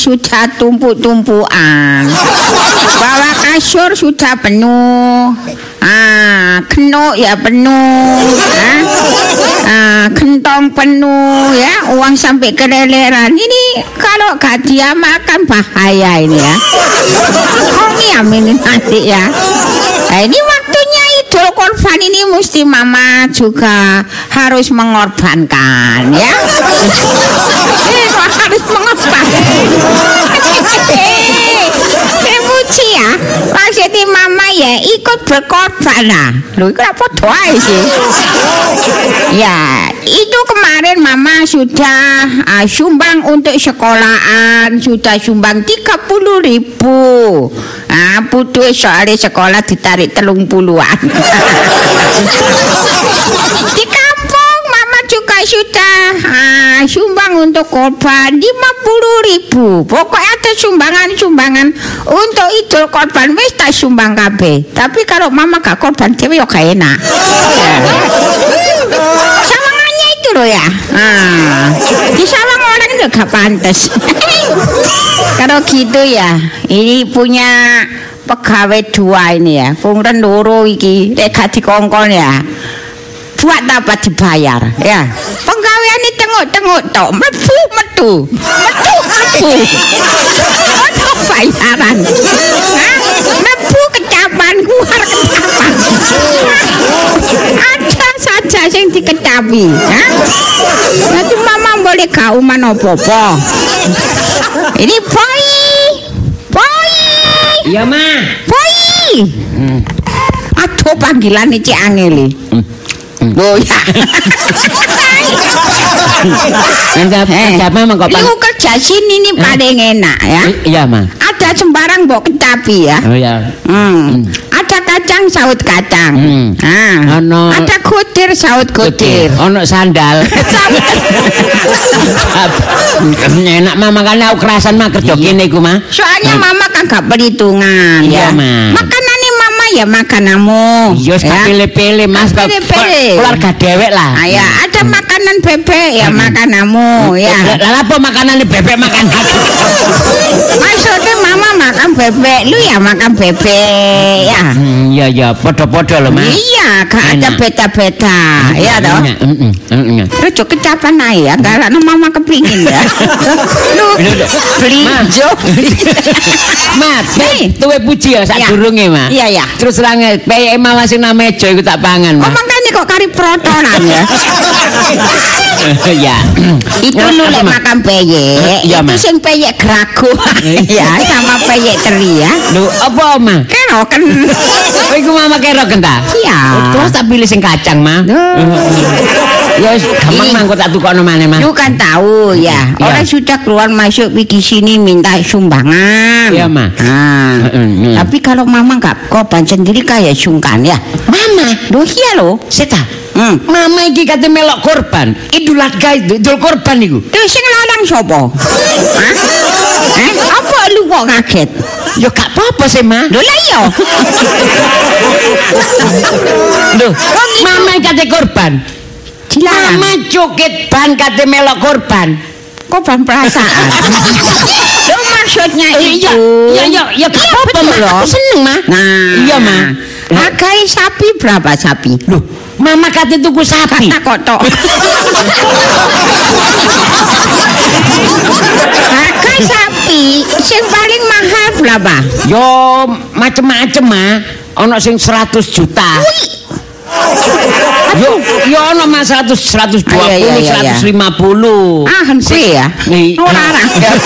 sudah tumpuk-tumpukan. Bawah kasur sudah penuh. Kenuk ya penuh. Kentong penuh ya, uang sampai keleleran. Ini kalau gak dia makan bahaya ini ya. Kongiam ini nanti ya. Nah, ini waktunya Idul Kurban ini mesti mama juga harus mengorbankan ya. Harus mengorbankan. Muji ya, maksudnya mama ya ikut berkorban lah. Loh, itu apa doa sih? Ya, itu kemarin mama sudah sumbang untuk sekolahan, sudah sumbang 30.000. Butuh soalnya sekolah ditarik 30-an. Di kampung mama juga sudah sumbang untuk korban 50.000. Pokoknya ada sumbangan-sumbangan untuk Idul Korban wis tak sumbang kabeh. Tapi kalau mama gak korban dhewe yo gak enak. Sawangannya itu loh ya. Di sawang orang itu gak pantas. Kalau gitu ya, ini punya pegawai 2 ini ya. Pungren loro iki nek gak dikongkon ya. Buat dapat dibayar ya. Penggawean ini tengok-tengok tok, metu. Untuk bayaran. Metu kecapan, keluar kecapan. Ada saja yang dikecapi. Nanti mama boleh kauman apa-apa. Ini boy. Iya ma. Boy. Aduh panggilan ini Cik Angeli. Oh ya. Lu kerja sini nih paling enak ya. Iya ma. Ada sembarang mbok kecapi ya. Oh ya. Ada kacang saut kacang. Ada kutir saut kutir. Ono sandal. Enak mama kan aku kerasan mah kerja kene iku mah. Soalnya mama kan gak perhitungan ya. Makanannya mama ya makanamu. Iya pilih-pilih mas. Keluarga dewek lah. Ya ada makanan bebek ya makanamu ya. Lah apa makanannya bebek makan aku? Maksudnya mama makan bebek, lu ya makan bebek ya. Iya podo-podo loh mas. Iya, gak ada beda-beda ya toh. Terus juga kecapan ae ya, karena mama kepingin ya. Lu beli jo. Mas, tuwe puji ya sak durunge mas. Iya. Terus range peyek mawar sing name Jo iku tak pangan mas. Oh makanya kok kari protonan ya. Ya. Itu nulek makan peyek. Itu sing peyek grago. Ya, sama peyek teri ya. Lho, apa ma? Keroken. Oh iku mama keroken ta? Iya. Terus tak pilih sing kacang ma. Ya gampang mangko tak tukokno maneh ma. Lu kan tahu ya. Orang sudah keluar masuk pergi sini minta sumbangan. Iya ma. Tapi kalau mama nggak korban sendiri kayak sungkan ya. Mama, loh iya loh. Seta. Mama iki kate melok korban. Idul Adha Idul Korban niku. Terus sing larang sapa? Apa lu kok kaget? Ya gak apa-apa sih, Ma. Lho lah iya. Loh, mama kate korban. Dilarang. Mama joget ban kate melok korban. Korban perasaan. Itu maksudnya itu. Ya gak apa-apa, Ma. Aku seneng, Ma. Nah, iya, Ma. Hargai sapi berapa sapi? Loh, mama kate tuku sapi. Kata kotok. Harga sapi sing paling mahal berapa? Yo macem-macem mah. Ono sing 100 juta. Yo ono mah 120, 150. Henti ya. Larang.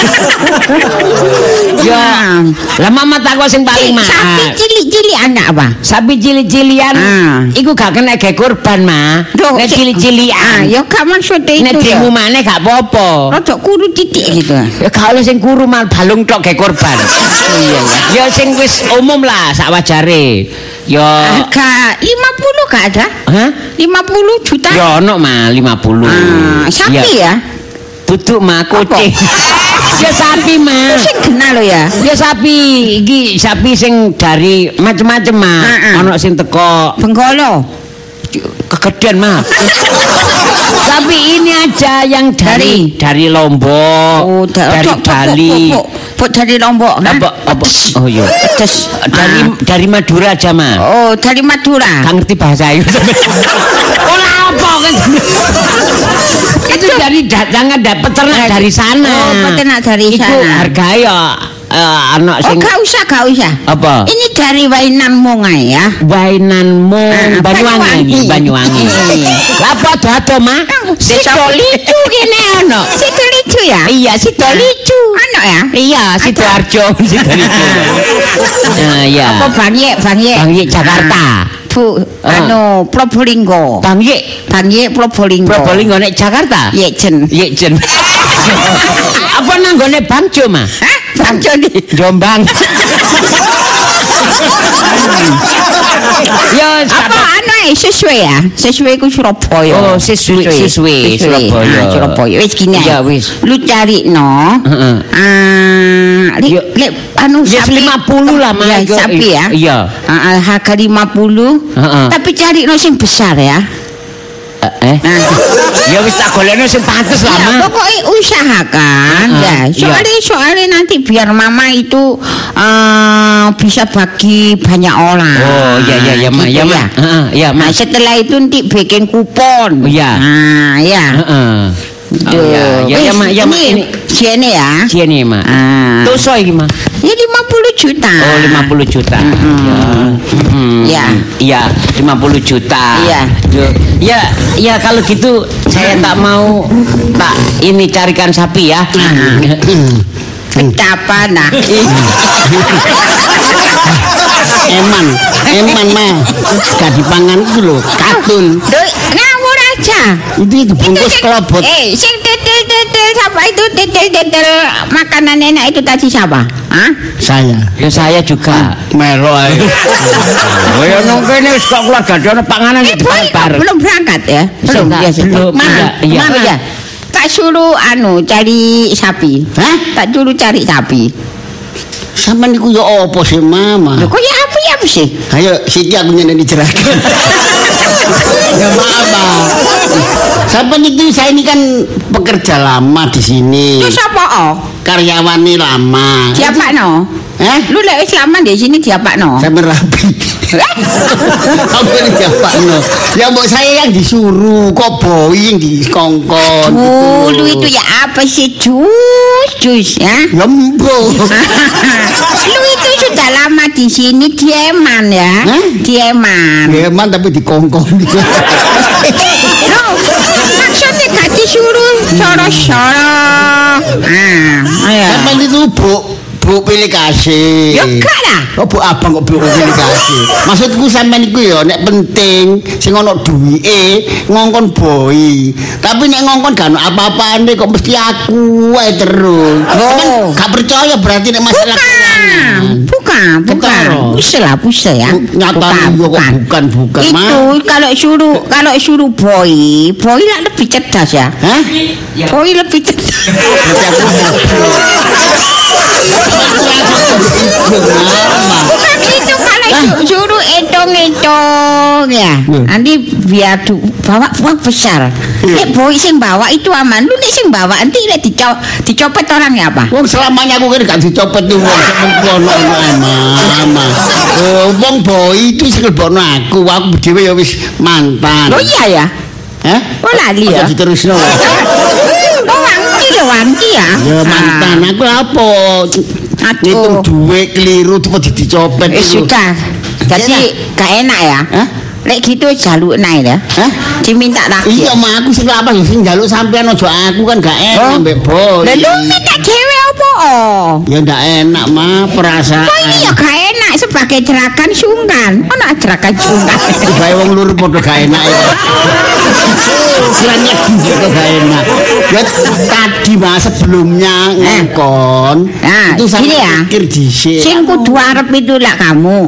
Ya. Lah mama takok sing paling mahal. Sapi cilik-cilik anak apa? Sapi cilik-cilian. Iku gak kena ge kurban, Ma. Nek cilik-cilian. Ya gak maksud itu. Nek demo maneh gak apa-apa. Rodok kuru titik gitu. Ya gak oleh sing kuru mal balung tok ge kurban. Iya ya. Ya sing wis umum lah sak wajare. Ya harga 50 gak ada? Hah? 50 juta? Ya ono mah 50. Sapi ya? Duduk mah kucing. Ya sapi mah. Sing kenal lo ya. Ya sapi, iki sapi sing dari macem-macem mah. Ono sing teko Benggolo. kegedean mah. Tapi ini aja yang dari Lombok, dari Bali. Dari Lombok kan? Apa? Oh iya. Dari Madura aja mah. Oh, dari Madura. Gak ngerti bahasa itu. Olah apa kan? Itu dari jangan peternak dari sana. Oh, peternak dari sana. Itu harganya anak sing. Oh, gak usah. Apa? Ini dari Wainanmu ya. Wainanmu Banyuwangi. Apa dato mah? Sido licu gini ono. Sido licu ya? Iya, sido licu. Ono ya? Iya, Sidoarjo, sido licu. Iya. Apa Bangye Jakarta. Bu, Probolinggo. Bangye Probolinggo. Probolinggo nek Jakarta? Yekjen. Apa nanggone Bangjo mah? Hah? Bangjo di Jombang. Ya, apa sesuai ya? Sesuai ku Surabaya. Oh, sesuai Surabaya. Surabaya. Wis gini ya. Wis. Lu cari no. Sapi 50 lah mah. Sapi ya. Iya. Harga 50. Tapi cari no sing besar ya. Ya wis tak golekno sing pantes lah mah. Pokoknya usahakan ya. Soalnya nanti biar mama itu bisa bagi banyak orang. Oh iya Mak. Gitu, Ya Mak. Nah, setelah itu nanti bikin kupon. Iya. Nah, ya. Ya Mak, ini sini ya. Sini Mak. Tuso iki Mak. Ya 50 juta. Oh 50 juta. Ya. Iya 50 juta. Iya. Ya kalau gitu saya tak mau ini carikan sapi ya. Betapa nah. Eman mah. Gak dipangan itu loh, katun. Ngawur aja. Itu bungkus kelobot. Sing titil siapa itu titil makanan enak itu tadi siapa? Hah? Saya. Ya saya juga. Melo ae. Ya nang kene wis kok keluarga dene panganan Belum berangkat ya? Belum. Mana? Ya. Tak suruh cari sapi. Hah? Tak suruh cari sapi. Sampeyan niku ya apa sih, Mama? Lho kok ya apa sih? Ayo siki aku nyeneni jerakan. Ya maaf, Bang. Sampeyan itu saya ini kan pekerja lama di sini. Terus apa? Karyawan lama. Siapa no? Lu lek wis lama di sini siapa no? Saya merapi. Apa ini siapa no? Ya mbok saya yang disuruh kok boy yang dikongkon. Lu itu ya apa sih jus ya? Ya mbok. Lu itu sudah lama di sini dieman ya? Dieman tapi dikongkon. Maksudnya gak disuruh soro-soro. Sampai itu Bu pilih kasih. Ya gak lah. Kok Bu abang kok Bu pilih kasih. Maksudku sampean iku ya nek penting sing ono duwike ngongkon boy. Tapi nek ngongkon gak ono apa-apane kok mesti aku ae terus. Gak percaya berarti nek masalah Bukan. Pusel ya. Nyatane yo kok bukan. Itu kalau suruh boy lah lebih cerdas ya. Hah? Boy lebih cerdas. Bukan itu kalau suruh hitung ya. Nanti biar bawa uang besar. Nek boy sing bawa itu aman. Lu nek sing bawa nanti nek dicopet orangnya apa? Wong selamanya aku kira gak dicopet tuh wong sempono ama. Wong boy itu sing lebokno aku dhewe ya wis mantan. Oh iya ya. Hah? Oh lali ya. Diterusno. Wanci ya. Ya mantan aku apa? Ngitung duit keliru tuh dicopet itu. Sudah. Jadi gak enak ya. Lek gitu jaluk naik ya. Diminta lagi. Iya mah aku sing apa sing njaluk sampean aja aku kan gak enak mbek boy. Lah lu minta dhewe apa? Ya ndak enak mah perasaan. Kok iya gak enak sebagai jerakan sungkan. Ono jerakan sungkan. Bae wong lur padha gak enak ya. Kiranya gitu gak enak. Ya tadi mah sebelumnya ngongkon. Itu sama pikir dhisik. Sing kudu arep itu lak kamu.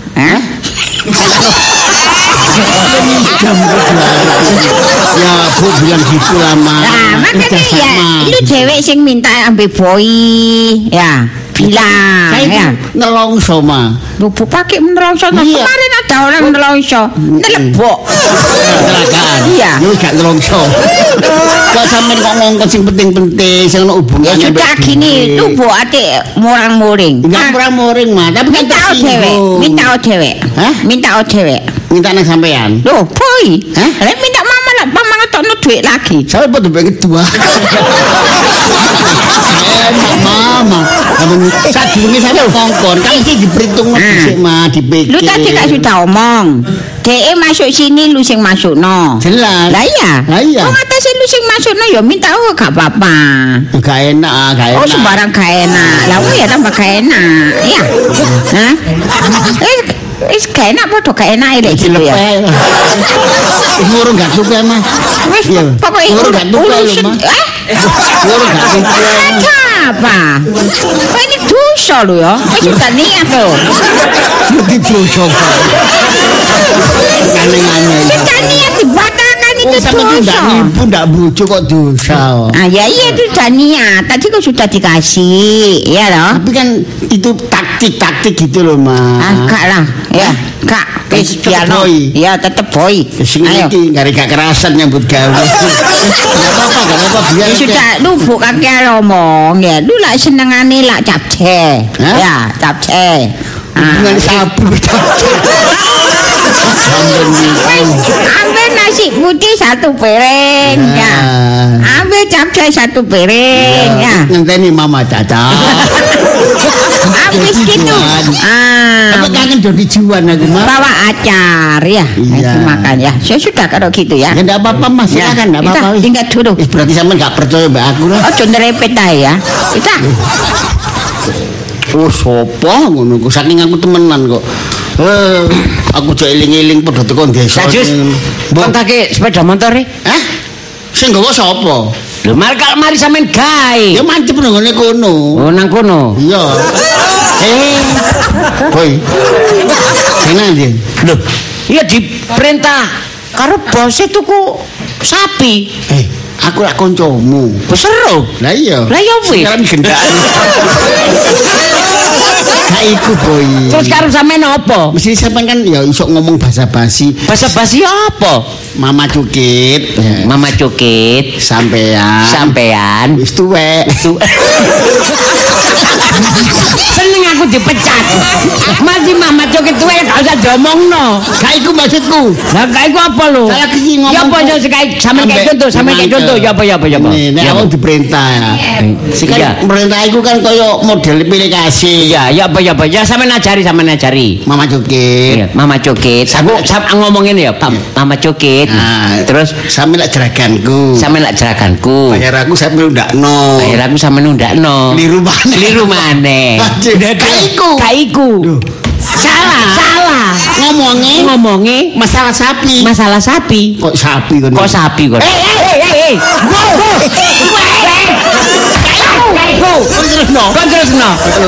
Ya Bu bilang gitu lah Mas. Nah makanya ya lu cewek sing minta ambil boy ya. bilang Saya ya. nelongso mah. Lubuk pakai nelongso. Iya. Kemarin ada orang nelongso. Nelebok. Kecelakaan. Iya. Yo gak nelongso. Kok sampean kok ngongkon sing penting-penting sing ono Ya hubungane. sudah gini, lubuk ate murang-muring. Enggak murah-muring mah, tapi kan Minta dewek, minta dewek. Hah? Minta dewek. Minta nang sampean. Loh, boy. Hah? Lek minta mama lah, mama ngetokno duit lagi. Saya pada pengen kedua. Mama, saat dulu saya ngongkon, kan ini diperhitung sih mah, dipikir. Lu tadi gak sudah omong. DE masuk sini lu sing masuk no. Jelas. Lah iya. Lah iya. Kok ngatasé lu sing masuk no ya minta gak apa-apa. Gak enak, gak enak. Oh sembarang gak enak. Lah ya tambah gak enak. Iya. Hah? Wis gak enak padha gak enak lek gitu ya. Ngurung gak suka mah. Wis Iya. pokoke Ngurung gak suka lho mah. Ngurung gak suka. Apa? Kok ini dosa lho ya. Wis sudah niat lho. Ngerti dosa. Aneh-aneh. Sudah niat dibatalkan itu Sama itu ndak dosa. nipu, ndak bojo kok dosa. Ah ya iya itu sudah niat. Tadi kok sudah dikasih, ya loh. Tapi kan itu taktik gitu loh, Mas. Ah, kak lah, ya, kak. Wis Tetep piano. boy. Ya, tetep boy. Sing Ayo. iki gak kerasan nyambut gawe. Gak apa-apa biar. Ya sudah, lu bukan kayak ngomong ya. Lu lah senengane lah capce. Hah? Ya, capce. Dengan sabu. Ambil nasi putih satu piring, ya. Ambil capce satu piring, ya. Ngenteni Mama Caca. Habis gitu. Tapi kangen dodi juan aku, Mas. Bawa acar ya. Iya. Nasi makan ya. Ya sudah kalau gitu ya. Ya enggak apa-apa, Mas. Ya, Silakan, enggak apa-apa. kita tinggal dulu. Berarti sampean enggak percaya mbak aku lah. Oh, nerepet ae ya. Kita. Oh, sopo ngono kok saking aku temenan kok. Aku jek eling-eling padha teko desa. Sajus, kontake sepeda motor e. Hah? Sing nggawa sapa? Lho mari sampean gawe. Ya mancep nang ngene kono. Oh nang kono. Iya. Boy. Enak ndi? Lho, iya diperintah karo bos tuku sapi. Aku lak kancamu. Wis seru. Lah iya. Lah ya wis. Sekarang gendaan. Gak iku, Boy. Terus karo sampean apa? Mesti sampean kan ya iso ngomong basa-basi. Basa-basi apa? Mama Cukit. Mama Cukit, sampean. Wis tuwek. Seneng aku dipecat. Masih Mama Cukit tuwe gak usah diomongno. Gak iku maksudku. Lah gak iku apa lho? Salah iki ngomong. Ya apa yo sampean kayak contoh, sampean kayak contoh ya apa ya apa ya apa. Nek awak diperintah ya. Sing kan perintah iku kan koyo model pilih kasih. Iya, ya apa ya apa. Ya sampean ajari. Mama Cukit. Iya, Mama Cukit. Aku ngomongin ya, Mama Cukit. Nah, Terus sampe lak jeraganku. sampean lak jeraganku. Bayar aku sampe ndakno. Bayar aku sampean ndakno. Liru maneh. Liru maneh. Gak iku. Salah. Ngomongnya Masalah sapi. masalah sapi. Kok sapi kon? Kok sapi kon? Kon terusno.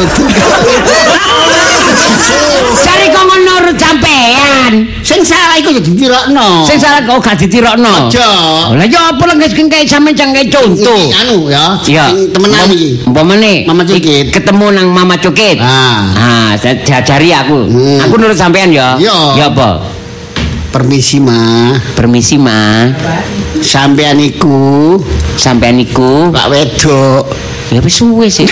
Cari kok nurut sampean. Sing salah iku ya ditirokno. Sing salah kok gak ditirokno. Aja. Lah ya apa lek kayak sampean jangke contoh. Anu ya. Iya. Sing temenan iki. Umpamane Mama Cukit. ketemu nang Mama Cukit. Diajari aku. Aku nurut sampean ya. Iya. Ya apa? Permisi, Ma. Permisi, Ma. Sampean iku Pak wedok. Ya wis suwe sih.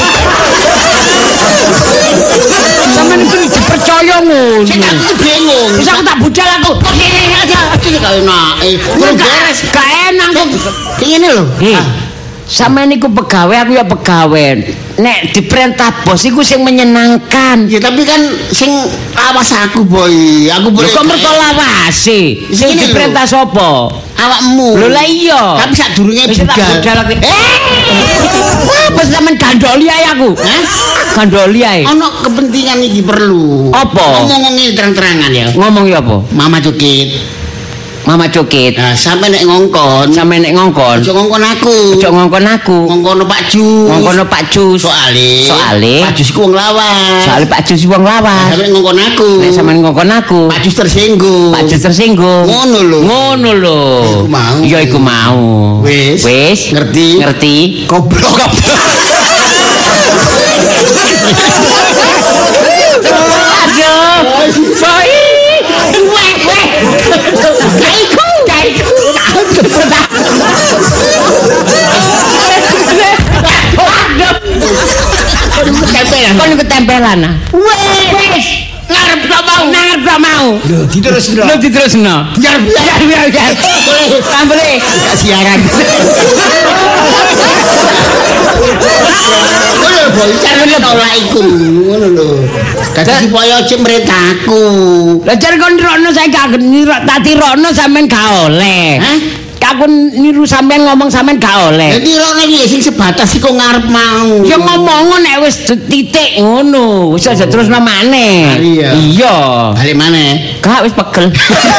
Sampeyan iki dipercaya ngono. Sing aku bingung. Wis aku tak budal aku. Kok ngene aja. Iki gak enak. Kurang beres. Gak enak kok. Ngene lho. Sampeyan iku pegawai, aku ya pegawai. Nek diperintah bos iku sing menyenangkan. Ya tapi kan sing awas aku, Boy. Aku boleh. Kok mergo lawase. Sing Ngene lho. diperintah sapa? Awakmu. Lho lah iya. Tapi sadurunge Wis tak budal. budal aku. Apa sampean gandoli ae aku? Hah? Gandoli ae. Ono kepentingan iki perlu. Apa? Ngomongin terang-terangan ya. Ngomong ya apa? Mama Cukit. Mama Cukit. Nah, sampe nek ngongkon, Sampe nek ngongkon. ojo ngongkon aku. Ojo ngongkon aku. Ngongkono Pak Jus. Ngongkono Pak Jus. Soale Pak Jus ku wong lawas. Soale Pak Jus wong lawas. Sampe nek ngongkon aku. Nek sampean ngongkon aku. Pak Jus tersinggung. Pak Jus tersinggung. Ngono lho. Ngono lho. Iku mau. Iya iku mau. Wis. Wis. Ngerti. Ngerti. Goblok. Aduh. Boy. Weh. Kaiku. Kon ketempelan. Wes. Ngarep gak mau. Lho, diterusno. Biar. Boleh. Gak siaran. Ngono boy, carane tolak iku. Ngono lho. Dadi supaya cek meretaku. Lah jar kon nirokno saiki gak nirok tak tirokno sampean gak oleh. Hah? Aku niru sampean ngomong sampean gak oleh. Dadi rono iki sing sebatas iku ngarep mau. Ya ngomong nek wis titik ngono, wis aja terusno maneh. Iya. Balik maneh. Gak wis pegel.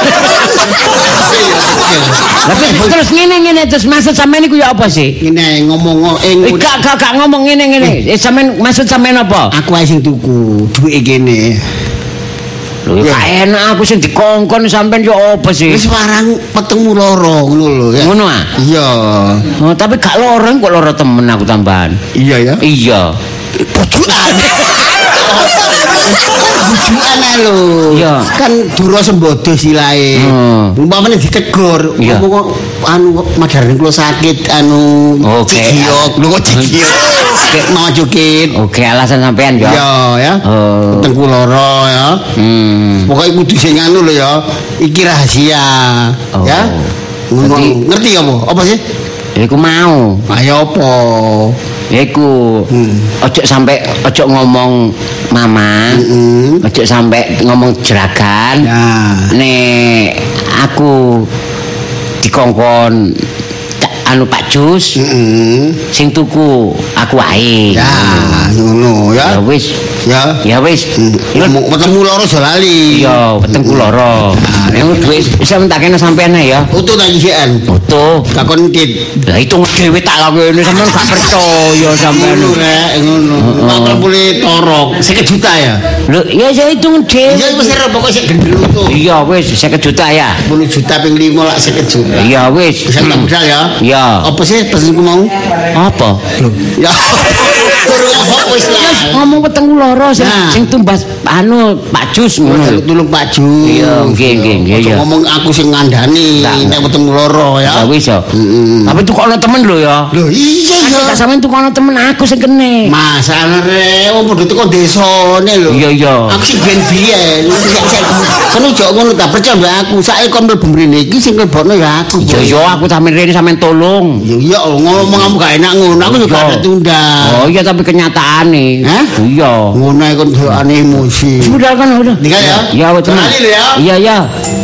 Tapi terus ngene terus maksud sampean iku ya apa sih? Ngene ngomong Gak ngomong ngene. Sampean maksud sampean apa? Aku ae sing tuku, duwike kene. Lho gak enak aku sing dikongkon sampean yo apa sih? Wis warang petengmu loro ngono lho ya. Ngono ah? Iya. Oh, tapi gak loro kok loro temen aku tambahan. Iya ya. Iya. Bujukan. Bujukan lho. Iya. Kan dura sembodo silae. Umpamane ditegur, ngomong anu madarane kula sakit anu cigiok. Lho kok cigiok. Mau cukit. Oke, alasan sampean ya. Iya ya. Petengku loro ya. Pokoknya kudu sing anu lho ya. Iki rahasia. Ya. Ngerti apa? Apa sih? Iku mau. Ayo apa? Iku ojo ngomong mama, ojo sampai ngomong jeragan. Nek aku dikongkon anu Pak Jus, sing tuku aku wae. Ya, ngono ya. Ya wis. Wetengmu loro aja lali. Iya, wetengku loro. Nek duwe bisa mentakene sampean ya. Utuh ta isian. Utuh. Takon tit. Lah hitung dhewe tak lakone sampean gak percaya sampean. Ngono. 40 torok, 50 juta ya. Lho, ya saya hitung dhewe. Iya wis pokoke sik gendel utuh. Iya wis 50 juta ya. 10 juta ping 5 lak 50 juta. Iya wis. Bisa tak modal ya. Iya. Apa sih pesenku mau? Apa? Ya. Wis lah. Ngomong wetengku loro sing tumbas anu Pak Jus ngono. Tulung Pak Jus. Iya, nggih. Ya. Ngomong aku sing ngandani nek wetengku loro ya. Ya wis ya. Tapi tukokno temen lho ya. Lho iya ya. Sampeyan tukokno temen aku sing kene. Masalahne wong padha teko desane lho. Iya. Aku sing ben-ben. Kan ojo ngono ta percaya mbak aku. Saiki kon mlebu mrene iki sing lebokno ya aku. Iya aku sampeyan rene sampeyan tolong. Iya ngomong kamu gak enak ngono. Aku juga ada tunda. Oh iya tapi kenyataane. Iya. Ngono kon doane emosi. Sudah kan udah. Tinggal ya. Ya wis tenan. Iya.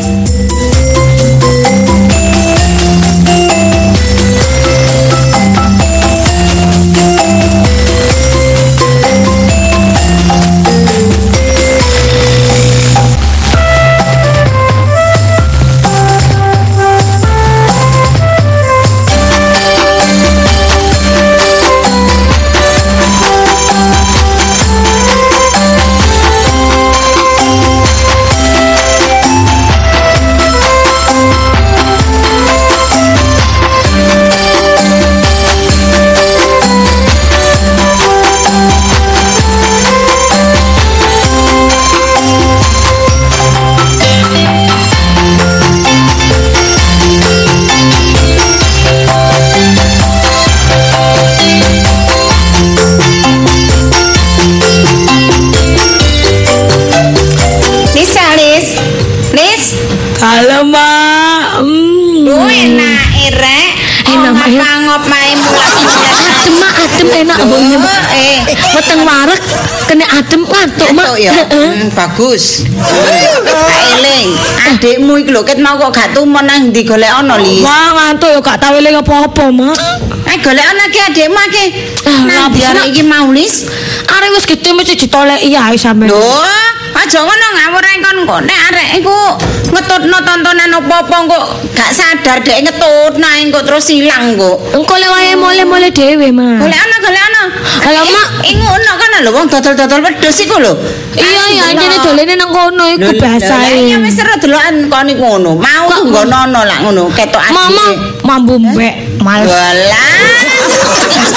Halo, Mak. Enak rek. Ngop mae Adem enak mboknya. Weteng wareg kena adem ngantuk, Mak. Bagus. Eling, adikmu iki lho ket mau kok gak tumon nang ndi golek ana li. Wah, ngantuk ya gak tau eling apa-apa, Mak. Golek ana ki adikmu ki. Nah, biar iki Maulis. Arek wis gedhe mesti ditoleki ae sampean. Lho, aja ngono ngawur kon kok nek arek iku ngetutno tontonan apa-apa kok gak sadar dhek ngetutno engko terus ilang kok. Engko le wae mole-mole dhewe, Mak. Golek ana. Halo, Mak. Ngono kan lho wong dodol-dodol wedhus iku lho. Iya, intine dolene nang kono iku biasae. Ya wis seru delokan kon iku ngono. Mau nggono lak ngono ketok adike. Mama mambu mbek males. Walah.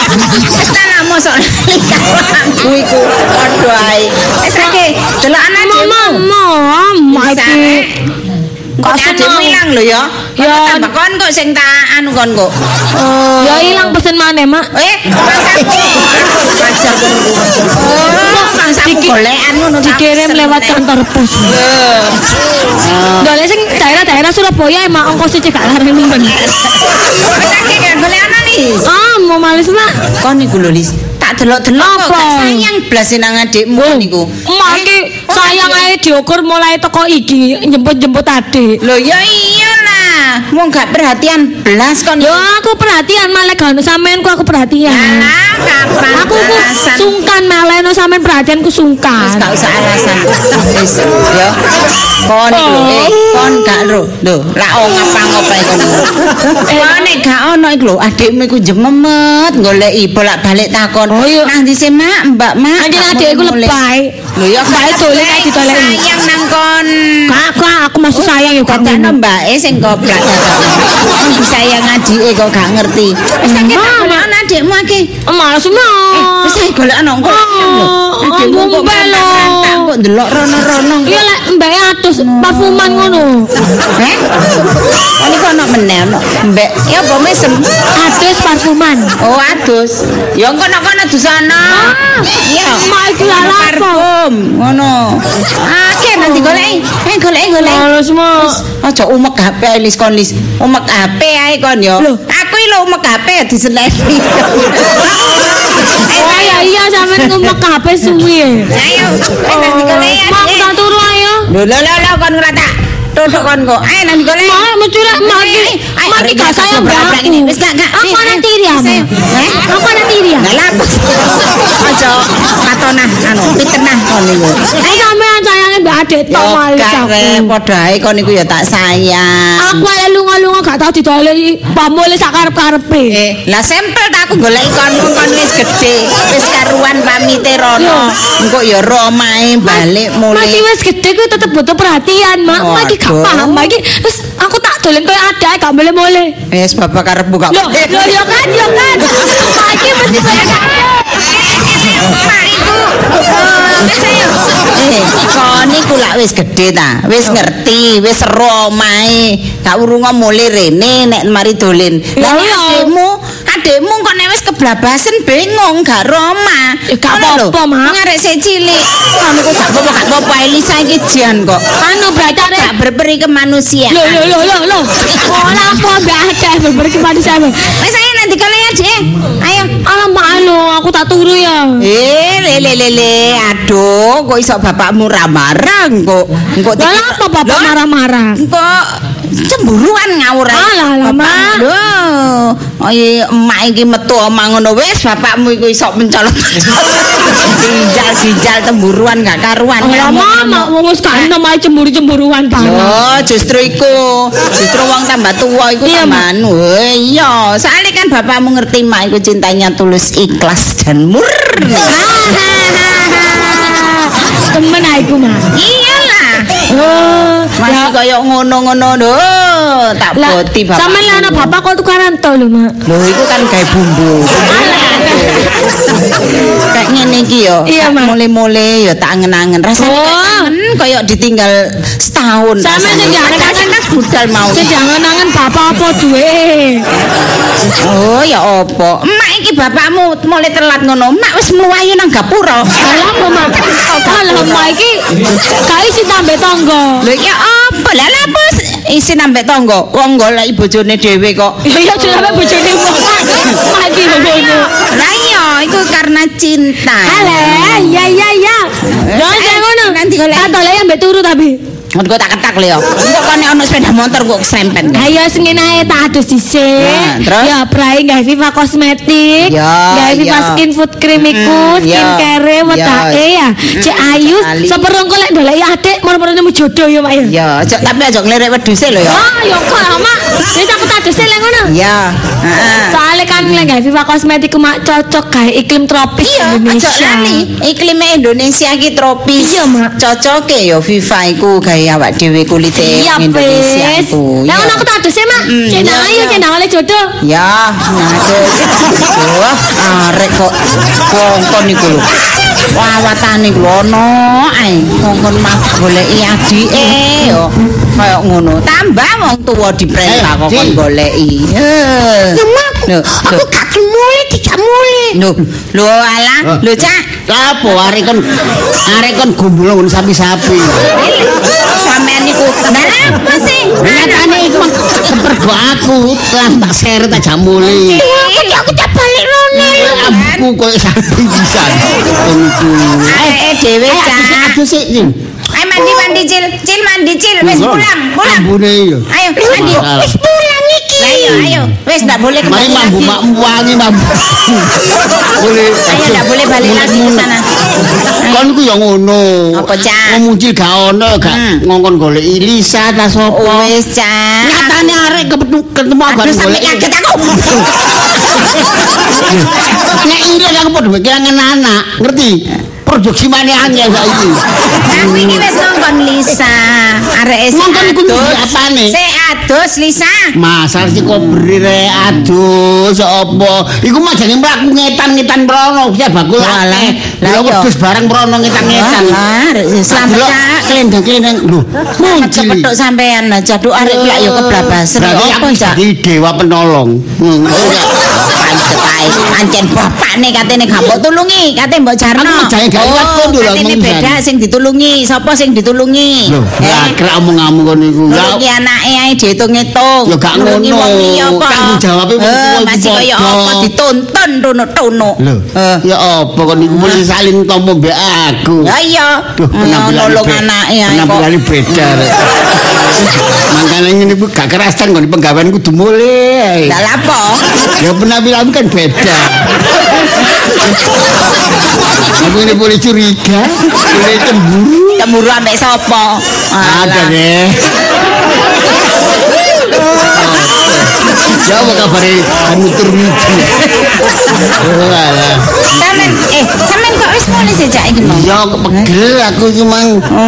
Wis tak mosok aku iku padha ae. Wis akeh delok anak Mama iki. Kok adikmu ilang lho ya? Ya. Tambah kon kok sing tak anu kon kok. Ya ilang pesen maneh, Mak. Mangsamu golekan ngono Dikirim lewat kantor pos. Golek sing daerah-daerah Surabaya emang ongkos gak larang nemen. Wis akeh golekan nih. Mau males, Mak. Kon niku lho Lis, tak delok-delok kok Apa? sayang blas nang adikmu niku. Emak iki sayang ae diukur mulai teko iki jemput-jemput adik. Lho ya iyalah, wong gak perhatian blas kon. Yo aku perhatian malah gak ono sampeanku aku perhatian. Alah, kapan Aku ku alasan? sungkan malah ono sampean perhatianku Wis sungkan. gak usah alasan. Wis ya. Kon iku lho, kon gak lho. Lho, lak ngapa-ngapa kon. Kon nek gak ono iku lho, adikmu iku jememet goleki bolak-balik takon. Oh, iya. Nang ndi sih, Mak? Mbak, Mak. Anjen Kamu adikku mulai. lebay. Lho ya Mbake dolen ae ditoleki. Sayang nang kon. Kak, aku masuk sayang yo gak Kakakno ngono. mbake sing goblok kon disayang adike kok gak ngerti. Wis tak golek adikmu akeh. Males Wis ae golek ana engko. Adikmu kok tak kok ndelok rono-rono. Iya lek mbake atus parfuman ngono. Heh? Kon iku ana meneh ana mbek. Ya apa mesem? Atus parfuman. Oh, adus. Ya engko kono adus ana. Iya. Mak iki lha apa? Parfum ngono. Akeh nanti goleki. Goleki. Males, Mak. Aja umek HP Lis kon Lis. Umek HP ae kon yo. Loh. Aku iki lho umek HP diseleki. Iya sampean ngumek HP suwi. Ayo, nanti goleki. Mak tak turu ayo. Lho kon ora tak tutuk kon kok. Ayo nanti goleki. Mak mencuri mak iki gak sayang aku. Wis gak. Aku ana tiri ya, Mak. Aku ana tiri ya. Lah lapus. Aja katonah anu fitnah kon niku. Sampean sayange mbak adik tok males aku. Padha ae kon niku ya tak sayang. Aku ae lunga-lunga gak tau didoleki pamule sak karep-karepe. Lah sampel tak aku goleki kon wis gedhe. Wis karuan pamite rono. Engko ya ro omahe balik mulih. Masih wis gede kuwi tetep butuh perhatian, Mak. Mak iki gak Waduh. paham, Mak iki wis aku tak dolen koyo ada gak boleh-boleh. Wis bapak karepmu gak. Loh, yo kan. Mak iki mesti Kon niku lak wis gedhe ta, wis ngerti, wis ro omahe. Gak urunga mulih rene nek mari dolen. Lah Iya. adikmu kok nek wis keblabasen bingung gak ro omah. Ya, gak apa-apa, Mak. Ngarek sik cilik. Kon niku gak apa-apa Elisa iki jan kok. anu berarti Gak berperi ke manusia. Loh. Ora apa mbak ada berberi kepada saya. Wis ayo nanti kalian aja. Ayo. Alamak aku tak turu ya. Lele. Aduh, kok iso bapakmu marah kok. Engko Lah apa bapak marah-marah? Kok cemburuan ngawur ae. Alah, Mak. Lho, emak iki metu omah ngono wis bapakmu iku iso mencolot. Ginjal cemburuan gak karuan. Mama wong wis gak enom ae cemburu-cemburuan parah. Yo, justru iku. Justru wong tambah tua iku Iya, tambah anu. Iya, soalnya kan bapakmu ngerti mak iku cintanya tulus, ikhlas dan murni. Temen aku mah. Iyalah. Ya Masih kaya ngono-ngono lho. Tak boti bapak. Sampe lah anak bapak kok tukaran to lho, Mak. Lho iku kan gawe bumbu. Kayak ngene iki yo. Iya, Mak. Mulai-mulai yo tak angen-angen. Rasane kaya ditinggal setahun. Sampe rasane. sing jangan-jangan budal mau. Sing jangan-jangan bapak apa duwe. Oh ya apa? Emak iki bapakmu mulai telat ngono. Emak wis mluwayu nang gapura. Alah, Mak. Alah, Mak iki gak isi tambah tangga. Lho ya apa? Lah apa isi nambah tangga? Wong golek bojone dhewe kok. Ya jenenge bojone wong. Mak iki ngono. Lah iya iku karena cinta. Alah, ya. Yo sing ngono. Nanti golek. Tak dolek ambek turu tapi. Engko tak ketak lho. Engko kon ono sepeda motor kok serempet. Ayo sing ngene ae tak adus dhisik. Nah, terus? Ya prai gawe Viva kosmetik. Ya, Gawe Viva ya. skin food cream iku, ya. skincare wedake ya. Cek ayu seperongko lek doleki adik moro-moro nemu jodoh ya, Mak ya. Ya, tapi aja ngelirik wedhuse lho ya. Oh, ya kok lah, Mak. Wis aku tak adus lek ngono. Ya, heeh. Soalnya kan lek gawe Viva kosmetik ku mak cocok gawe iklim tropis Iya, aja Indonesia. lali. Iklim Indonesia iki tropis. Iya, Mak. Cocoke ya Viva iku gawe kaya awak dhewe kulite Indonesia ku. Lah ngono aku tak adus Mak. Cendang ayo cendang oleh jodoh. Ya, adus. Wah, arek kok kongkon niku lho. Wawatane ku ono ae. Kongkon mah goleki adike yo. Kaya ngono. Tambah wong tuwa diperintah kok goleki. Aku gak mule tidak mule. Lho alah, lho Cak. Lah apa arek kon gumbul ngono sapi-sapi. Sampeyan niku kenapa sih? Nyatane iku kepergo aku lah tak seret aja mule. Aku tak balik rone. Aku koyo sapi bisa. Ae dhewe Cak. Aduh sik. Ayo mandi cil wis pulang. Ambune yo. Ayo mandi. Wis pulang iki. Ayo. Wis ndak boleh kembali lagi. Mambu wangi mambu. Boleh. Ayo ndak boleh balik lagi ke sana. Kon ku yo ngono. Apa, Cak? Wong muncul gak ono gak ngongkon goleki Lisa ta sapa. Wis Cak. Nyatane arek ketemu aku sampe kaget aku. Nek ilang aku padha kelangan anak, ngerti? Produksi mana angel saiki. Aku iki wis ngongkon Lisa. Arek ngongkon iku apane? Sik adus Lisa. Masal si kobri rek adus apa? Iku mah jane mlaku ngetan-ngetan mrono, ya bakul akeh. Lah wedhus bareng mrono ngetan-ngetan. Selamat klendeng-klendeng. Lho, muncul petuk sampean aja duk arek lak yo keblabasen. Apa Cak? Dewa penolong. Ancen bapakne katene gak mbok tulungi, katene mbok jarno. Katene beda sing ditulungi, sapa sing ditulungi? Lho, krek omong-omong kon niku. Iki anake ae diitung-itung. Ya gak ngono. Tanggung jawabe masih kaya apa dituntun tunuk-tunuk. Lho, ya apa kon niku mesti salin tompo mbek aku. Ya iya. Nolong anake ae kok. Penampilan beda. Mangkane ngene iku gak kerasan kon penggawean kudu mulai. Lah lapo? Ya penampilan kan beda. Aku ini boleh curiga, boleh cemburu ambek sapa? Ada deh. Jawab kabare muter-muter. Sampeyan kok wis mulai sejak iki mau? Ya pegel aku iki mang.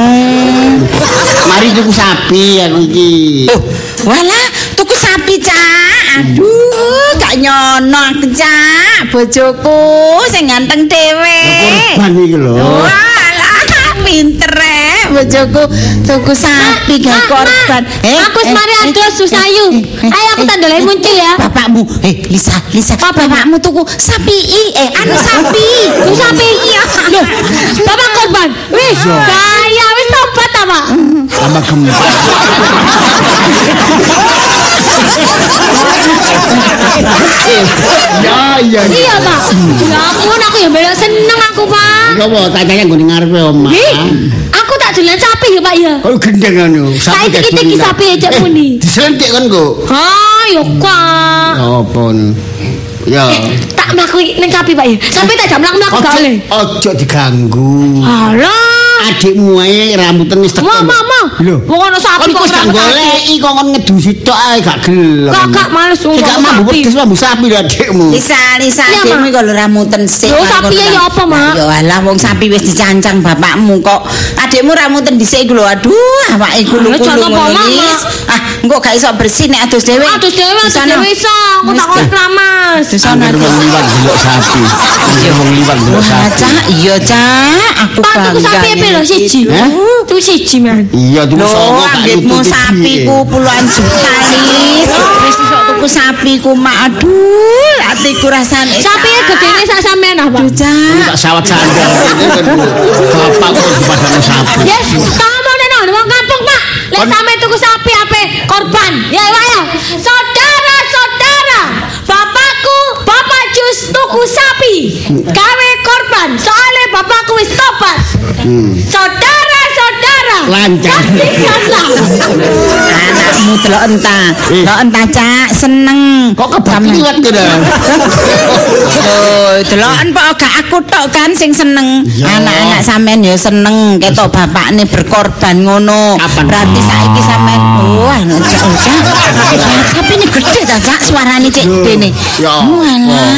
Mari tuku sapi aku iki. Walah, tuku sapi Cak. Aduh, gak nyono aku Cak. Bojoku sing ganteng dhewe. Korban iki lho. Walah, pinter bojoku tuku sapi gak korban. Aku wis mari adus susayu. Ayo aku tandolai muncul ya. Bapakmu, Lisa, bapakmu tuku sapi anu sapi. Tuku sapi iya. Loh, bapak korban. Wis, kaya wis tobat apa? Sama gempa. Ya. Iya, Pak. Ya ampun, aku ya bela seneng aku, Pak. Apa tanyanya nggon ngarepe omah. Aku tak dolan sapi ya, Pak ya. Oh, gendeng ngono. Sapi iki sapi aja muni. Disentik kan kok. Ha, yo kok. Apa ya. Tak mlaku ning sapi, Pak ya. Sampai tak jam mlaku gak oleh. Ojo diganggu. Halah. Adikmu ae rambutane wis teko. Mama. Lho, wong ana sapi kok gak goleki kok kon ngedusi tok ae gak gelem. Gak males wong sapi. Gak mambu sapi lho adikmu. Lisa adikmu kok lho ramuten sik. Lho sapi ya apa, Mak? Ya alah wong sapi wis dicancang bapakmu kok. Adikmu ramuten dhisik iku lho. Aduh, awake gulu-gulu ngono. Engko gak iso bersih nek adus dhewe. Adus dhewe iso. Aku tak kon kramas. Di sana liwat delok sapi. Wong liwat delok sapi. Iya, Cak. Aku bangga. Sapi apa lho siji? Tuku siji, Man. Iya, tuku songo tak tuku sapiku puluhan juta lis. Wis iso tuku sapiku mak. Aduh, atiku rasane. Sapi gedene sak sampean apa? Tak sawat sandal. Bapak kok dipadane sapi. Yes, kamu neno wong kampung, Pak. Lek sampe tuku sapi ape korban. Ya ayo. Saudara-saudara, bapak jus tuku sapi. Gawe korban. Soale bapakku wis tobat. Saudara-saudara, lancar. Anakmu delok entah Cak seneng. Kok kebakiwat kira. Oh, deloken kok gak aku tok kan sing seneng. Anak-anak sampean ya seneng ketok bapakne berkorban ngono. Berarti saiki sampean wah Cak. Tapi ini gede ta Cak suarane cek dene. Walah.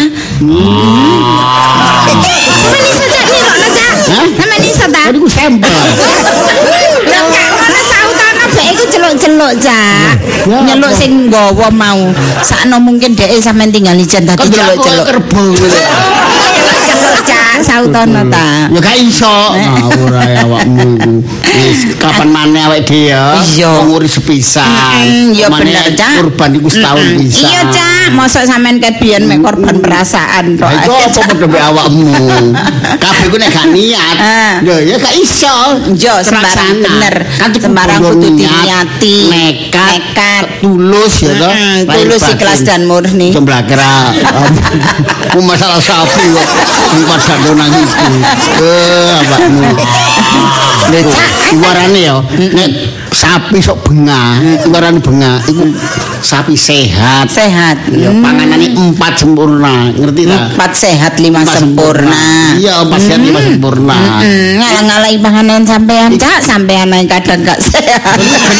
Sampeyan iso Cak nirokno Cak. Sampeyan iso ta? Iku sampel. Lah gak ngono kabeh iku celuk-celuk, Cak. Ya, Nyeluk apa? sing nggawa mau. Sakno mungkin dhek sampean tinggal ijen dadi celuk-celuk. Kerbau gitu. Celuk, Cak, sautono ta. Ya gak iso. Ngawur ae awakmu iku. Wis kapan maneh awake dhewe ya. Iya. Nguri sepisan. Ya Maneh bener, Cak. Kurban iku setahun bisa. Iya, Cak. Mosok sampean ket biyen mek korban perasaan tok. Lah iku apa padha mbek awakmu? Kabeh ku nek gak niat. Ya gak iso. Yo sembarang bener. Kan Sembarang kudu diniati. nekat, tulus ya toh. Tulus ikhlas dan murni. Jemblakra. Ku masalah sapi kok sing padha nang iku. Awakmu. Nek warane ya nek sapi sok bengah, warane bengah iku sapi sehat. Sehat. Ya panganane 4 sempurna, ngerti ta? 4 sehat 5 sempurna. Iya, 4 sehat 5 sempurna. Ngalang-alangi panganan sampean, Cak. Sampean ae kadang gak sehat.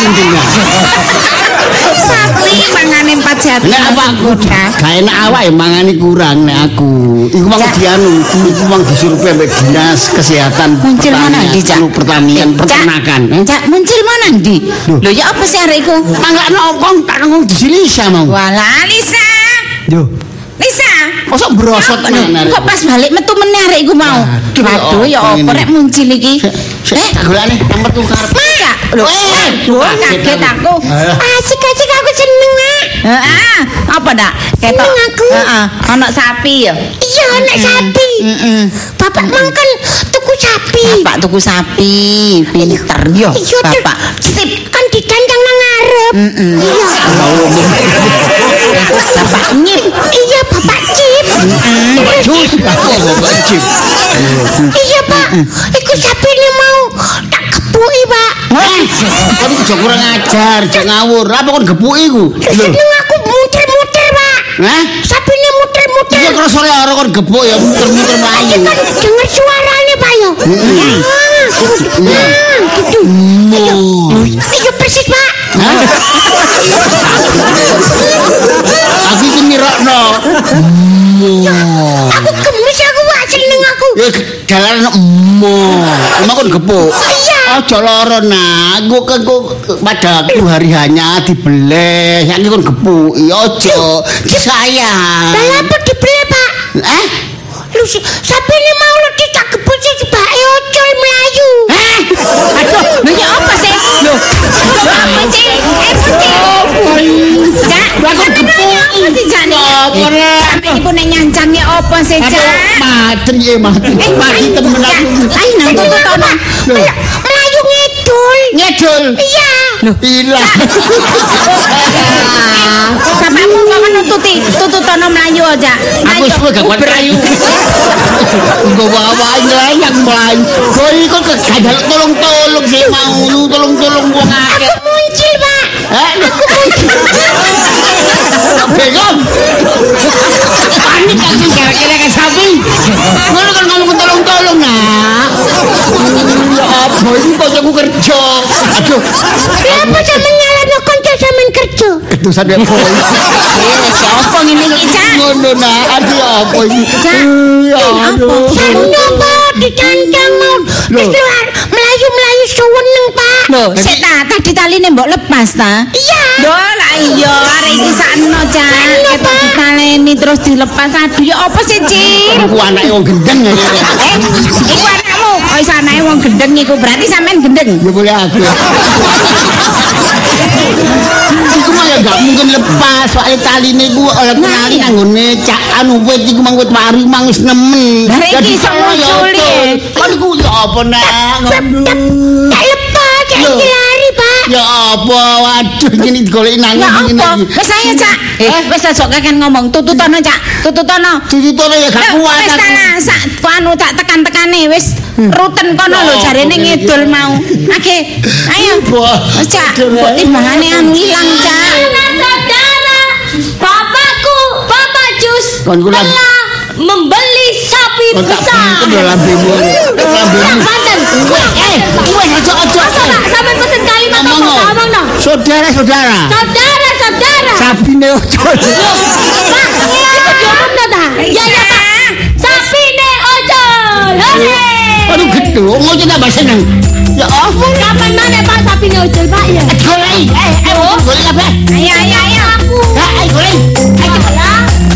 Sapi mangane 4 sehat. Nek apa aku gak enak awake mangane kurang nek aku. Iku mang dianu, iku mang disuruh ambek dinas kesehatan Muncul mana ndi, Cak? pertanian peternakan. Cak, muncul mana ndi? Lho ya apa sih arek iku? Manggakno ongkong tak ngomong di Lisa mau. Walah, Lisa. Yo. Lisa. Mosok brosot mana Kok pas balik metu meneh arek iku mau. Waduh ya apa rek muncul iki? Tak golekane nomor tuh karep. Cak, lho. Kaget aku. Asik-asik aku seneng, Mak. Heeh. Apa ndak? Ketok. Heeh. Ana sapi ya. Iya, anak sapi. Bapak mangkan tuku sapi. Bapak tuku sapi, pinter yo. Iya, Bapak. Sip, kan didandang nang ngarep. Iya. Bapak nyip. Iya, Bapak Cip. Jus, aku Bapak Cip. Iya, Pak. Iku sapine mau tak kepuki, Pak. Kan iku kurang ajar, jek ngawur. Apa kon gepuki iku? Seneng aku muter-muter, Pak. Hah? Sapine muter-muter. Iya terus ora kon gebuk ya muter-muter mlayu. Kan denger suarane, Pak yo. Gitu. Iya persis, Pak. Aku iki mirokno. Aku gemes aku, Pak. Seneng aku. Ya jalan emang kon gebuk. Iya. Aja lara nah, engko pada hari hanya dibeleh, saiki kon gebuk. Ya aja disayang. Lah apa dibeli, Pak? Lu sapine mau lu tak gebuk sing bake ocol mlayu. Aduh, lho ya apa sih? Lho. Apa sih? Cak, Lah kok gebuk. apa sih Cak? Apa rek? Sampe iku nek nyancangnya apa sih, Cak? Mati mati. Mati temen aku. Ayo nang tututono. Melayu ngidul. Ngedul. Iya. Ilang. Bapakmu kok tututono mlayu aja. Aku suwe gak kuat melayu. Engko wae nglayang mlayu. Boy kok gak tolong-tolong sih mau lu tolong-tolong wong akeh. Aku muncul, Pak. Aku bingung. Panik aku gara-gara ke sapi. Ngono kan ngomong tolong-tolong nak. Ya apa iki kok aku kerja. Aduh. Kenapa sampean nyalahno kanca sampean kerja? Ketusan dek boy. Siapa ngene iki, Cak? Ngono nak, aduh apa iki? Ya aduh. Napa dicantang mau? Wis keluar melayu-melayu seneng, Pak. Lho, sik ta, tadi taline mbok lepas ta? Iya. Lho, lah iya, arek iki sakno, Cak. Ketok ditaleni terus dilepas. Aduh, ya apa sih, Cil? Aku anake wong gendeng. Iku anakmu. Oh, iso anake wong gendeng iku berarti sampean gendeng. Ya boleh aku. Iku mah ya gak mungkin lepas soalnya taline iku oleh kenali nanggone cak anu wit iku mang wit wari mang wis nemen. Lah iki iso munculi. Kan iku ya apa nak ngono. Tak lepas, tak Loh. lari, Pak. Ya apa waduh ngene digoleki nang Ya ngene apa? iki. Wis ayo, Cak. Wis aja kaken ngomong. Tututono, Cak. Tututono. Tututone ya gak kuat Wis aku. ta, sak anu tak tekan-tekane wis ruten kono lho jarene ngidul mau. Oke. Ayo. Wis, Cak. Kok timbangane anu ilang, Cak. Saudara, bapakku, Bapak Jus Kon kula telah membeli sapi tak besar. pintu lambemu. Yang Banten. Wes aja. Pak, sampai pesen kalimat apa? Ngomong no. Saudara-saudara. Saudara-saudara. Sapine ojo. Pak, itu diomong no ta? Ya, ya, Pak. Sapi ne ojol. Hore. Aduh gede Aduh, mau tambah seneng. Ya ampun. Kapan mana Pak sapine ucul Pak ya? Goreng. Goreng kabeh. Ayo aku. Ayo goreng. Ayo ya.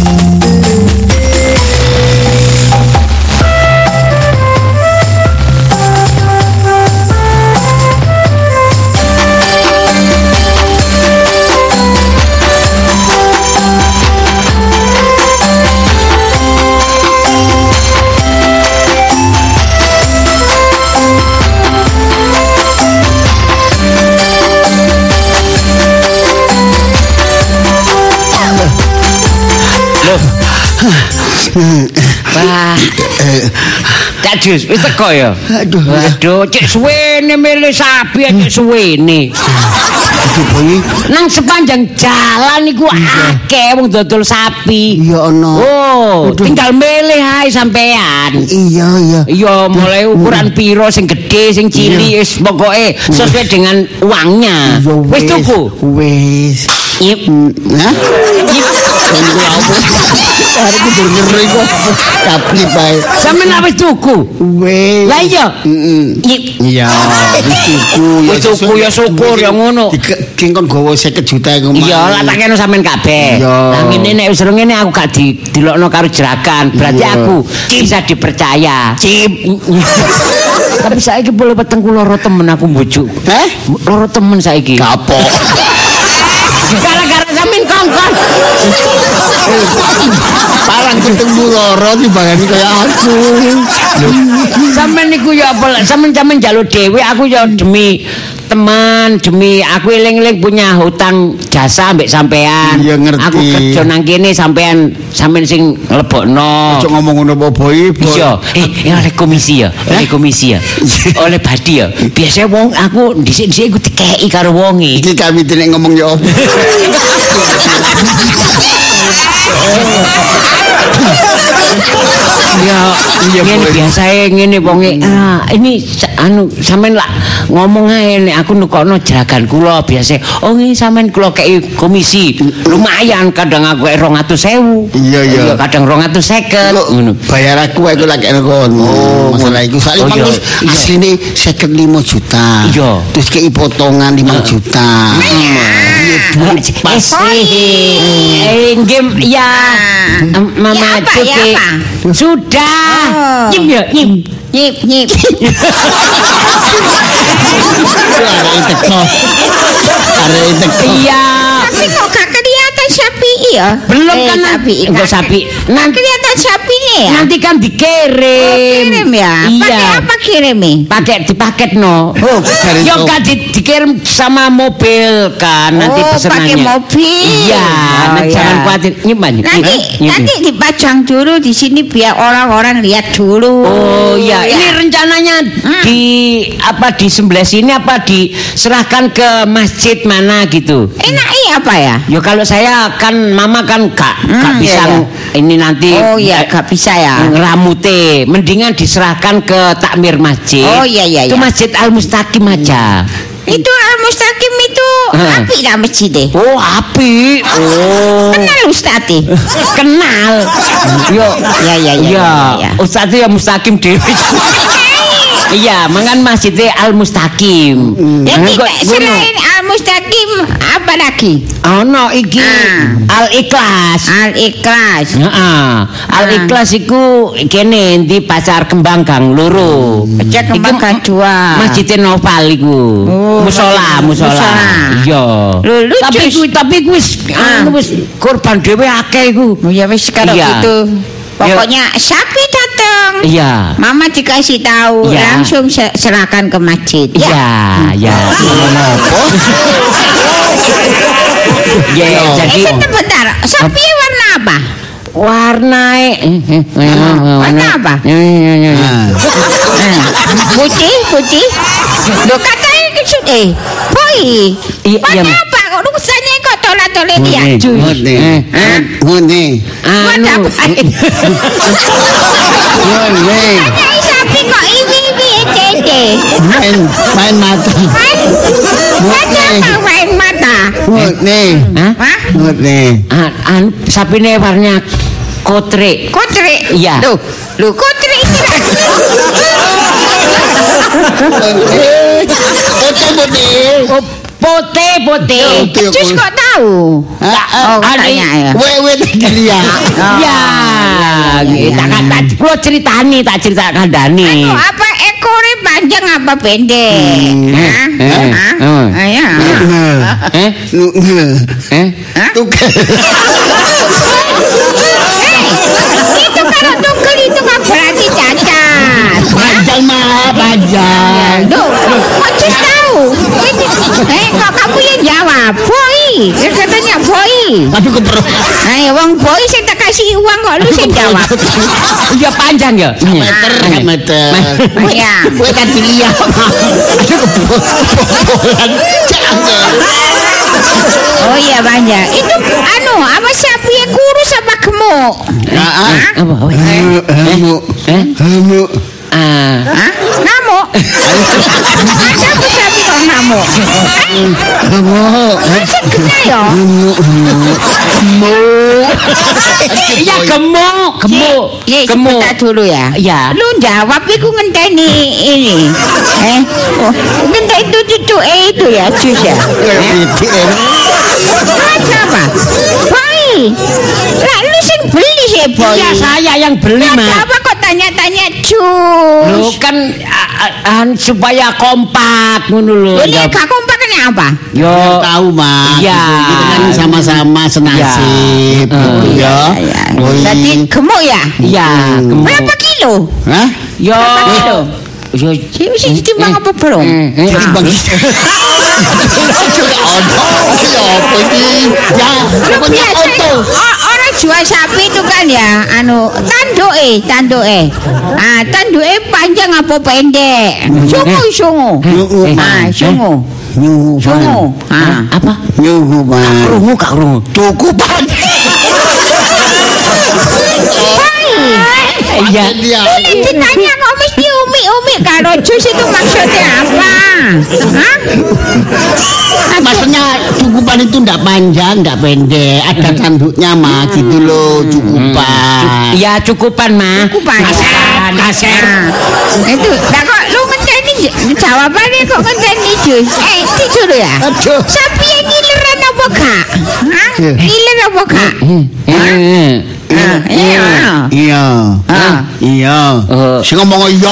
Wah. Cak Jus, wis teko ya? Aduh, cek suwene milih sapi cek suwene. Aduh, Boy. Nang sepanjang jalan iku akeh wong dodol sapi. Iya ono. Oh, tinggal milih ae sampean. Iya. Iya, mulai ukuran piro sing gede, sing cilik, wis pokoke sesuai dengan uangnya. Wis tuku. Wis. Yip. Hah? Arep ngeri kok. Tapi bae. Sampeyan wis tuku. Wis. Lah iya. Yip. Iya, wis tuku. Wis tuku ya syukur ya ngono. Ki kon gowo 50 juta iku mah. Iya, lah tak kene sampean kabeh. Lah ngene nek wis ngene aku gak dilokno karo jerakan. Berarti aku bisa dipercaya. Cip. Tapi saiki boleh peteng ku loro temen aku mbujuk. Loro temen saiki. Kapok. Gara-gara sampean kongkon. Parang ketemu loro timbangane kaya aku. Sampeyan niku ya apa sampeyan njaluk dhewe aku ya demi teman, demi aku eling-eling punya hutang jasa mbek sampean. Iya ngerti. Aku kerja nang kene sampean sing lebokno. Aja ngomong ngono apa Boy. Iya, oleh komisi ya, oleh komisi ya. Oleh badi ya. Biasa wong aku dhisik-dhisik iku dikeki karo wonge. Iki kami nek ngomong ya apa. Ya, ngene biasae ngene wonge. Ini anu sampean lah ngomong ae nek aku nukono jeragan kula biasa. Oh iki sampean kula kei komisi. Lumayan kadang aku 200.000. Iya. Kadang 250 ngono. Bayar aku lak kono. Masalah iku sak asline 55 juta. Iya. Terus kei potongan 5 juta. Pas game ya Mama Cuti sudah nyip ya nyip iya tapi kok gak kelihatan sapi ya belum kan sapi nanti kelihatan sapinya ya nanti kan dikirim kirim ya pakai apa kirimnya pakai dipaket no yo kan dikirim sama mobil kan nanti pesenannya pakai mobil iya jangan khawatir nanti dipajang dulu di sini biar orang-orang lihat dulu iya ini rencananya di sebelah sini apa diserahkan ke masjid mana gitu enaknya apa ya yo kalau saya kan mama kan gak bisa ini nanti gak bisa ya ngeramute mendingan diserahkan ke takmir masjid itu masjid Al-Mustaqim aja itu Al-Mustaqim itu api lah masjidnya api kenal Ustadz kenal yo ya Ustadz ya Mustaqim dewi iya mangan masjidnya Al-Mustaqim jadi selain Al-Mustaqim apa lagi no iki Al-Ikhlas Al-Ikhlas iku kene di Pasar Kembang Gang Loro Pasar Kembang Gang 2 Masjid Noval iku musola iya tapi iku wis korban dhewe akeh iku ya wis karo gitu pokoknya sapi datang iya mama dikasih tahu langsung serahkan ke masjid iya jadi bentar sapi warna apa warna apa putih lo katanya boy warna apa kok rusanya kok tolak-tolak dia ngene warna apa sapi kok ini main mata main mata sapine warna kotre iya lu kotre Putih. Cus kok tahu? Oh, tanya ya. Wewe dia. Ya, tak ceritani, tak cerita kandani. Anu apa ekore panjang apa pendek? Ayo. Tukel. Itu kalau tukel itu kan berarti cacat. Panjang mah, panjang. Duh, kok Cus tahu? Kok kamu yang jawab? Boy, katanya boy. Tapi keperlu. Ayo, wong boy sing tak kasih uang kok lu sing jawab. Ya panjang ya. Meter. Iya. Kowe kan lihat. Aduh kebobolan. Jangan. Oh iya banyak. Itu anu apa sapi yang kurus apa gemuk? Apa? Hamuk. Ngamuk. Ada apa sapi kok ngamuk? Hamuk. Masih kena ya? Iya gemuk. Sebentar dulu ya. Ya. Lu jawab iku ngenteni ini. Ngenteni itu cucu itu ya, Cus ya. Apa? Boy. Lah lu sing beli sih, Boy. Iya saya yang beli, Mas. Apa kok tanya-tanya Cus? Lu kan supaya kompak ngono lho. Ini gak kompak kan apa? Yo Tahu Mas. Iya. Kita kan sama-sama senasib gitu ya. Jadi gemuk ya? Iya, gemuk. Berapa kilo? Hah? Yo. Berapa kilo? Yo Mesti ditimbang apa belum? Ditimbang. Biasa orang jual sapi itu kan ya, anu tanduke. Tanduke panjang apa pendek? Sungu. Sungu. Apa? Nyuhu Mas. Kak krungu. Cukupan. Iya. Ini ditanya kok mesti umi kalau jus itu maksudnya apa? Hah? Maksudnya cukupan itu enggak panjang, enggak pendek, ada tanduknya mah gitu loh, cukupan. Iya cukupan mah. Cukupan. Kaser. Itu, nah kok lu ngenteni jawabannya kok ngenteni jus? Tidur ya? Aduh. Sapi yang ngileran apa kak? Hah? Ngiler apa kak? Iya. Si ngomong iya.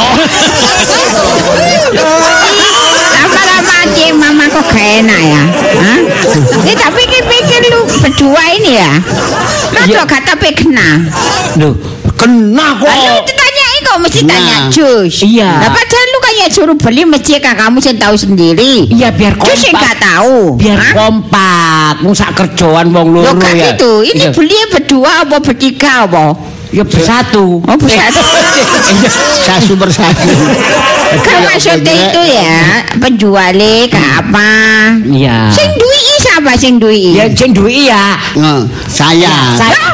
Lama-lama aja mama kok gak enak ya? Hah? Tak pikir-pikir lu berdua ini ya? Lu gak tapi kena? Duh, kena kok. Lu ditanyain kok mesti Nah. tanya jus. Iya. Nah padahal lu kayak suruh beli mesti kamu sih tahu sendiri. Iya biar Jus sih kompak. gak tahu. Biar Hah? kompak. Musak kerjaan wong loro Loh gak ya. gitu. Ini Iya. beli berdua apa bertiga apa? Ya bersatu. Oh bersatu. Satu persatu. Kan maksudnya itu ya penjualnya ke apa? Iya. Sing duwi siapa sing duwi? Ya sing duwe ya. Saya. Saya.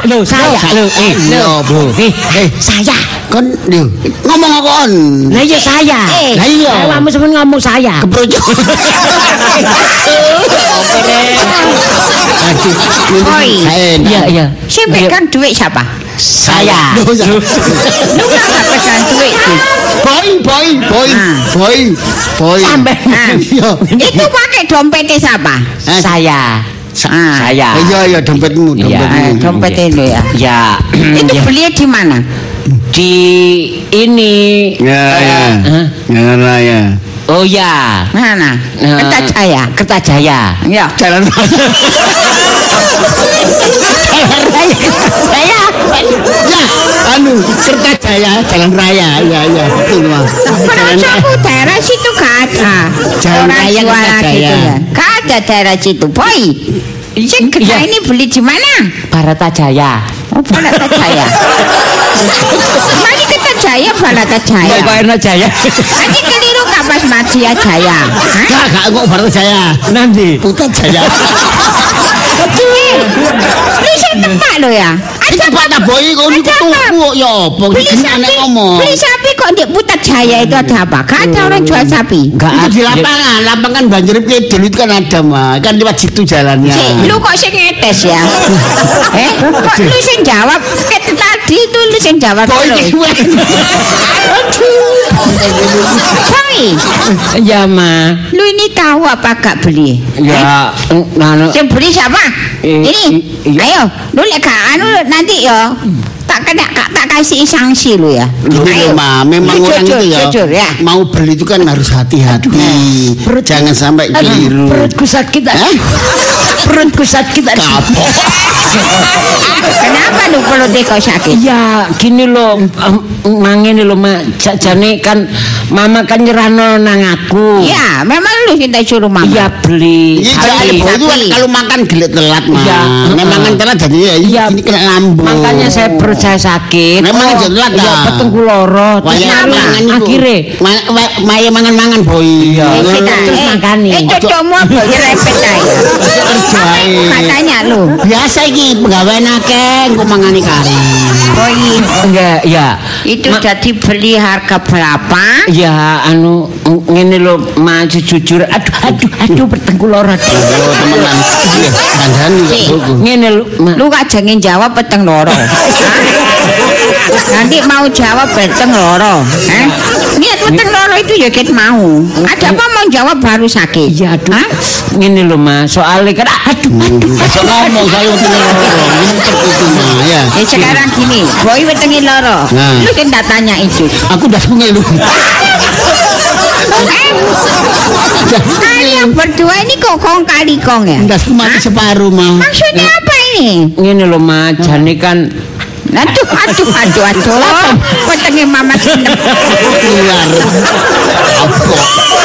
Saya. Kan ngomong kon. Lah ya saya. Lah iya. Awakmu sampeyan ngomong saya. Keprojok. Iya. Sing pegang duit siapa? Saya. Lu gak pegang duit. Boy. Sampai. Itu pakai dompetnya siapa? Saya. Saya. Iya dompetmu. Dompet itu ya. Ya. Itu beli di mana? Di ini. Ya. Oh ya. Mana? Kertajaya. Kertajaya. Ya. Jalan Saya. Ya, Kertajaya, Jalan Raya. Ya, betul Mas. Penocokku daerah situ gak ada. Jalan Orang Raya jualan Kertajaya. gitu ya. Gak ada daerah situ, boy. Sing kedai ini beli di mana? Baratajaya. Oh, Baratajaya. Mari kita Jaya, Baratajaya. Baratajaya. Nanti keliru kapas Madia Jaya. Gak kok Baratajaya. Nanti. Putra Jaya. Lu sing tepak lho ya. Iki Pak Taboy kok niku tuku ya apa iki anek ngomong. Beli sapi kok di Putat Jaya itu ada apa? Gak ada orang jual sapi. Itu di lapangan banjir kidul itu kan ada mah. Kan lewat situ jalannya. Lu kok sing ngetes ya? Kok lu sing jawab tadi itu lu sing jawab terus. Boy. Ya, Ma. Lu ini tahu apa gak beli? Ya, yang beli siapa? Ini. Ayo, lu lek gak anu nanti ya. Tak kasih sanksi lu ya. Gini loh, Ma, memang orang itu ya, jujur, ya. Mau beli itu kan harus hati-hati. Jangan sampai keliru. Perutku sakit. Perutku sakit. Kapok. Kenapa lu perutnya kau sakit? Ya, gini loh, mangene loh, Ma. Jane kan Mama kan nyerano nang aku. Ya, memang lu kita suruh Mama. Iya, beli. Iya, itu kalau makan gelet telat, Ma. Ya, memang telat jadi ya ini kena lambung. Makanya perut saya sakit. Memang telat ya. Ya, petengku loro. Akhirnya maya mangan-mangan boy. Terus makani. Cocokmu apa repet aja. Katanya lu. Biasa iki pegawai akeh engko mangani kari. Boy. Enggak, ya. Itu jadi beli harga berapa? Ya, anu ngene lho, Ma, jujur. Aduh, petengku loro. Temenan. Kandhani kok. Ngene lho, lu gak jangan jawab peteng loro. Nanti mau jawab peteng loro. Niat peteng loro itu ya ket mau. Ada apa mau jawab baru sakit? Ya aduh. Ngene lho, Ma, soalnya kan aduh. Ngomong saya peteng loro. Ini terkutu, Ma, ya. Sekarang gini, boy petengin loro. Lu kan tak tanya itu. Aku udah sungai lu. Kalian berdua ini kok kong kali kong ya? Udah mati separuh, Ma. Maksudnya apa ini? Ngene lho, Ma, jane kan Aduh. Petengin Mama seneng. Keluar. Apa?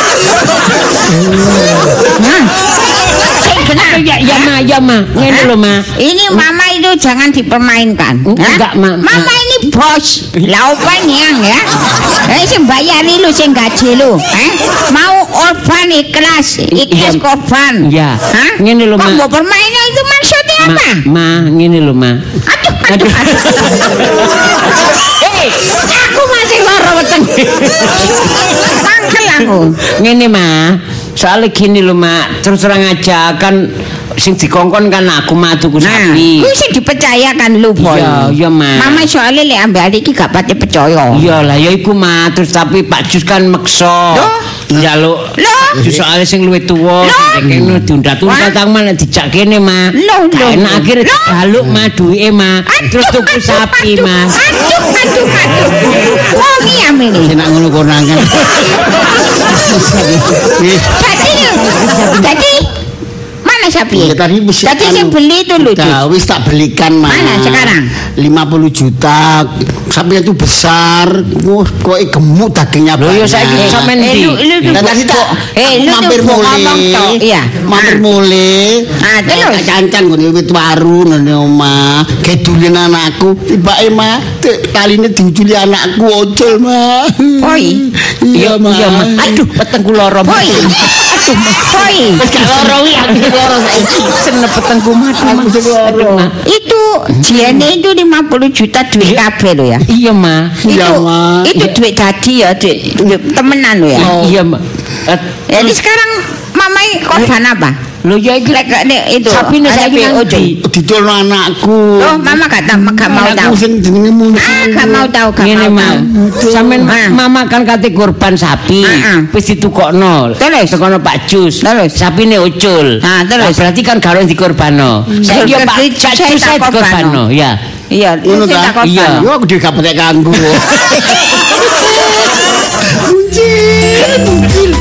Ya, Ma. Ngene lho, Ma. Ini Mama itu jangan dipermainkan. Enggak, Ma. Mama ini bos. Laupan yang ya. Sing bayari lu, sing gaji lu. Mau orban ikhlas korban. Ya. Ngene lho, Ma. Kamu permainan itu maksudnya apa? Ma, ngene lho, Ma. Aduh. Aku masih loro weteng. Mangkel aku. Ngene, Ma. Soalnya gini lho, Ma, terus terang aja kan sing dikongkon kan aku mah tuku sapi. Ku sing dipercaya kan lu, Boy. Iya, Ma. Mama soalnya lek ambek iki gak pati percaya. Iya lah, ya iku, Ma. Terus tapi Pak Jus kan meksa. Njaluk. Soalnya sing luwih tuwa, kene diundat-undat tang malah dijak kene, Ma. Enak akhirnya dijaluk, Ma, duwike, Ma. Terus tuku sapi, Ma. Aduh. Wong iki amene. Nek ngono konangan. Jadi mana sapi? Tadi yang beli itu lu. Wis tak belikan, Ma. Mana sekarang? 50 juta. Sapi itu besar. Kok gemuk dagingnya banyak. Loh, ya saiki sampean ndi? Tadi tak mampir mulai. Iya. Mampir mulai. Terus Cancan ngene wit waru nang omah. Gedulin anakku. Tibake, Ma. Taline diuculi anakku ojol, Ma. Boy. Iya, Ma. Aduh, petengku loro. Boy. Boy. Wis gak loro wi aku loro saiki. Senep petengku loro. Itu jene itu 50 juta duit kabeh lho ya. Iya, Ma. Itu duit tadi ya, duit temenan lho ya. Iya, Ma. Jadi sekarang Mama korban apa? Lho ya iki itu. Sapine saiki diculno anakku. Loh, Mama gak mau tahu. Sing jenenge Gak mau tahu, gak Ngene, mau Ma. tahu. Sampeyan Mama kan kate korban sapi. Wis ditukokno. Terus tekono Pak Jus. Terus sapine ucul. Terus berarti kan karo dikorbano. Saiki Pak Jus dikorbano, ya. Iya, ngono ta? Iya. Yo aku dhewe gak petek kanggo. Muncul.